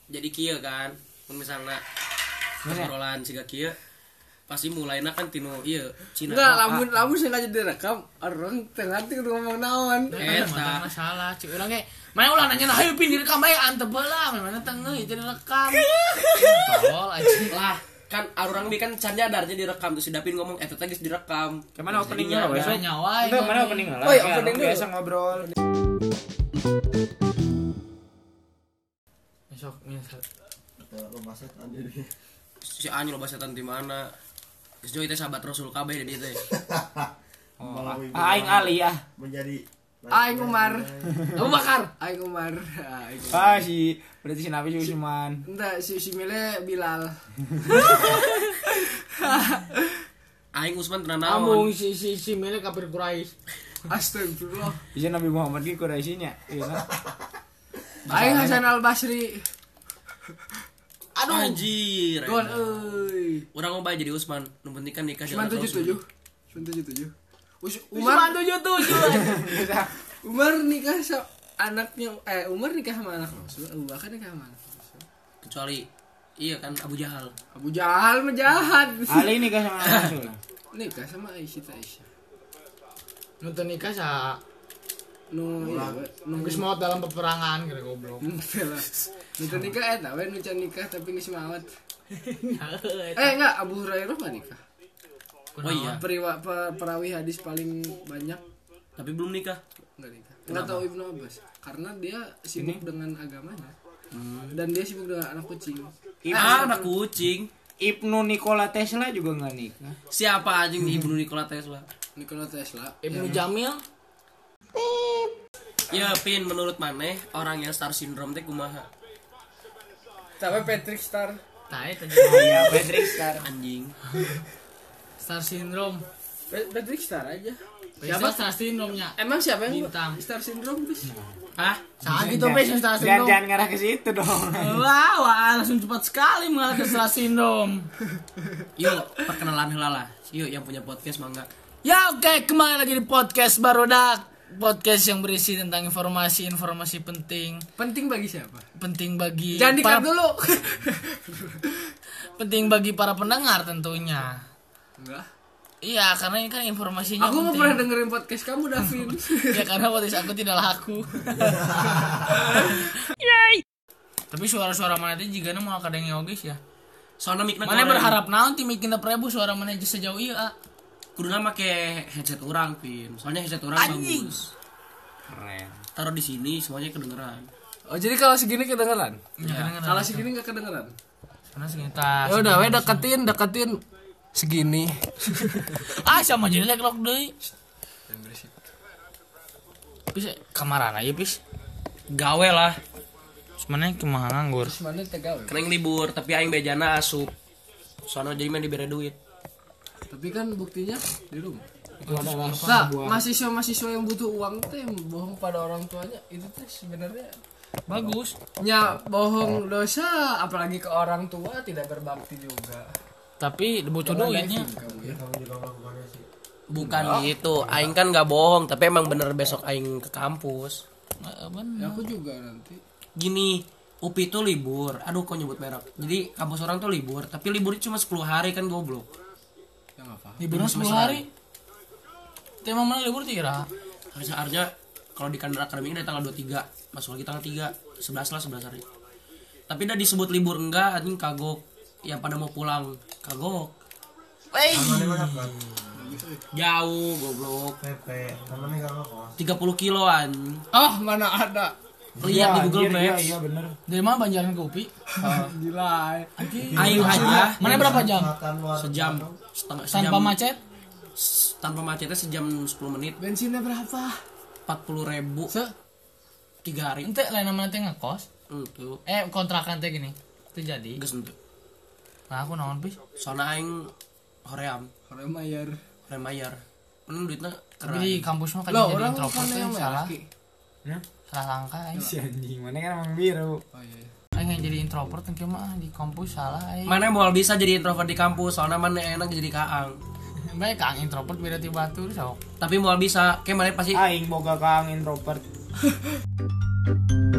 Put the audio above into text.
jadi kieu kan misalnya obrolan siga kieu pasti mulainya kan tinu ieu Cina. Enggak, lamun sengaja direkam orang tengah teu ngomong naon. Eta masalah cik urang ge mana ulah nanya hayu pin direkam aya antep heula mana tengah itu direkam. Tol anjing lah kan arurang mi kan can nyadar jadi direkam terus si Dapin ngomong eta teh geus direkam. Kemana openingnya lo besok? nyawa Itu mana opening lah? Oh, iya, opening dulu. Biasa ngobrol. besok misal Rumah setan jadi. Si Anyu loba setan di mana? Geus joy teh sahabat Rasul kabeh di dieu teh. Aing Ali ya. Menjadi Aing Umar. Abu Bakar Aing Umar. Berarti si Nabi Usman. Entah si Mile Bilal. Aing Usman tenan Amung naon? si Mele kafir Quraisy. Astagfirullah. Bisa Nabi Muhammad ki Quraisynya, iya kan? Aing Hasan Al Basri. Aduh anjir. Gon euy. Urang mau jadi Usman, nu penting kan nikah Usman dengan Rasul. 77. Umar 77. Umar nikah sama anaknya Umar nikah sama anak Rasul. Abu Bakar nikah sama anak Rasul. Kecuali iya kan Abu Jahal. Abu Jahal mah jahat. Ali nikah sama Rasul. Nikah sama Aisyah. Nonton nikah sa Nunggu geus maot dalam peperangan kira goblok. Nunggu nikah eta we nu can nikah tapi geus maot. Enggak, Abu Hurairah mah nikah. Oh iya, Perawi hadis paling banyak tapi belum nikah. enggak nikah. Enggak tahu Ibnu Abbas karena dia sibuk dengan agamanya. Dan dia sibuk dengan anak kucing. Anak kucing. Ibnu Nikola Tesla juga nggak nikah. Siapa anjing di Ibnu Nikola Tesla? Nikola Tesla. Ibnu Jamil Ya, Pin, menurut maneh orang yang star syndrome teh kumaha? Tapi Patrick Star. tah eta Iya, Patrick Star. Anjing. Star Syndrome. Patrick Star aja. Siapa Star Syndrome-nya? Emang siapa yang Bintang. Star Syndrome bis? Hah? Saat gitu pes Star Syndrome. Jangan ngarah ke situ dong. Wah, langsung cepat sekali mengarah ke Star Syndrome. Yuk, perkenalan heula lah. Yuk yang punya podcast mangga. Ya oke, kembali lagi di podcast Barudak. Podcast yang berisi tentang informasi penting. Penting bagi siapa? Penting bagi Jangan di-cut dulu. penting bagi para pendengar tentunya. Enggak. Iya, karena ini kan informasinya Aku mau penting. pernah dengerin podcast kamu, Davin. Ya karena podcast aku tidak laku. Tapi suara-suara mana teh jigana mau kadang geus ya. Soalnya mikna Mana berharap naon ti mikina prebu suara mana geus sejauh ieu ah. kuduna make headset urang, Pin. Soalnya headset urang Anjing. bagus. Keren. Taruh di sini semuanya kedengeran. Oh, jadi kalau segini kedengeran? Ya, Kalau segini enggak kedengeran? karena sekitar. Ya udah, we deketin segini. Sama jadi lek-lok deui. Pis kamarana ieu pis. Gawe lah. Sebenarnya kumaha nganggur. Mana tegawe? Kena libur, tapi aing bejana asup. Soalnya jadi main dibere duit. Tapi kan buktinya di rumah. Itu adalah Nah, mahasiswa yang butuh uang teh bohong pada orang tuanya itu teh sebenarnya Bagus. nya bohong dosa, apalagi ke orang tua tidak berbakti juga. Tapi butuh duitnya. Kamu ya. Bukan gitu, aing kan nggak bohong, tapi emang bener besok aing ke kampus. Ya, aku juga nanti. Gini, UPI tuh libur. Aduh, kok nyebut merek. Jadi kampus orang tuh libur, tapi liburnya cuma 10 hari kan goblok. Ya enggak apa. Liburan 10 hari. Tema mana libur tira? Harusnya kalau di kalender akademik dari tanggal 23, masuk lagi tanggal 3, 11 lah 11 hari. Tapi udah disebut libur enggak, anjing kagok. Yang pada mau pulang, kagok. Jauh, goblok. PP, namanya enggak apa. 30 kiloan. Ah, mana ada. Lihat di Google Maps. Iya, bener. Dari mana Banjaran ke UPI? Gila. Aing aja Mana berapa jam? sejam setengah Tanpa macet? tanpa macetnya sejam 10 menit. Bensinnya berapa? 40.000 Se 3 hari. ente lain namanya teh ngekos. Itu Kontrakan teh gini. Itu jadi. geus henteu. Nah, aku naon pis? Soalnya aing hoream, Orang bayar. hore mayar. Mun duitna Tapi di keren. kampus mah kan Loh, jadi orang introvert kan teh yang salah. laki. Salah langkah aing. Si anjing, mana kan emang biru. Oh iya. Aing yang jadi introvert teh mah di kampus salah aing. Mana mau bisa jadi introvert di kampus, soalnya mana enak jadi kaang. Bae kang introvert beda ti batur sok. Tapi mau bisa, kayak mana pasti Aing boga kang introvert.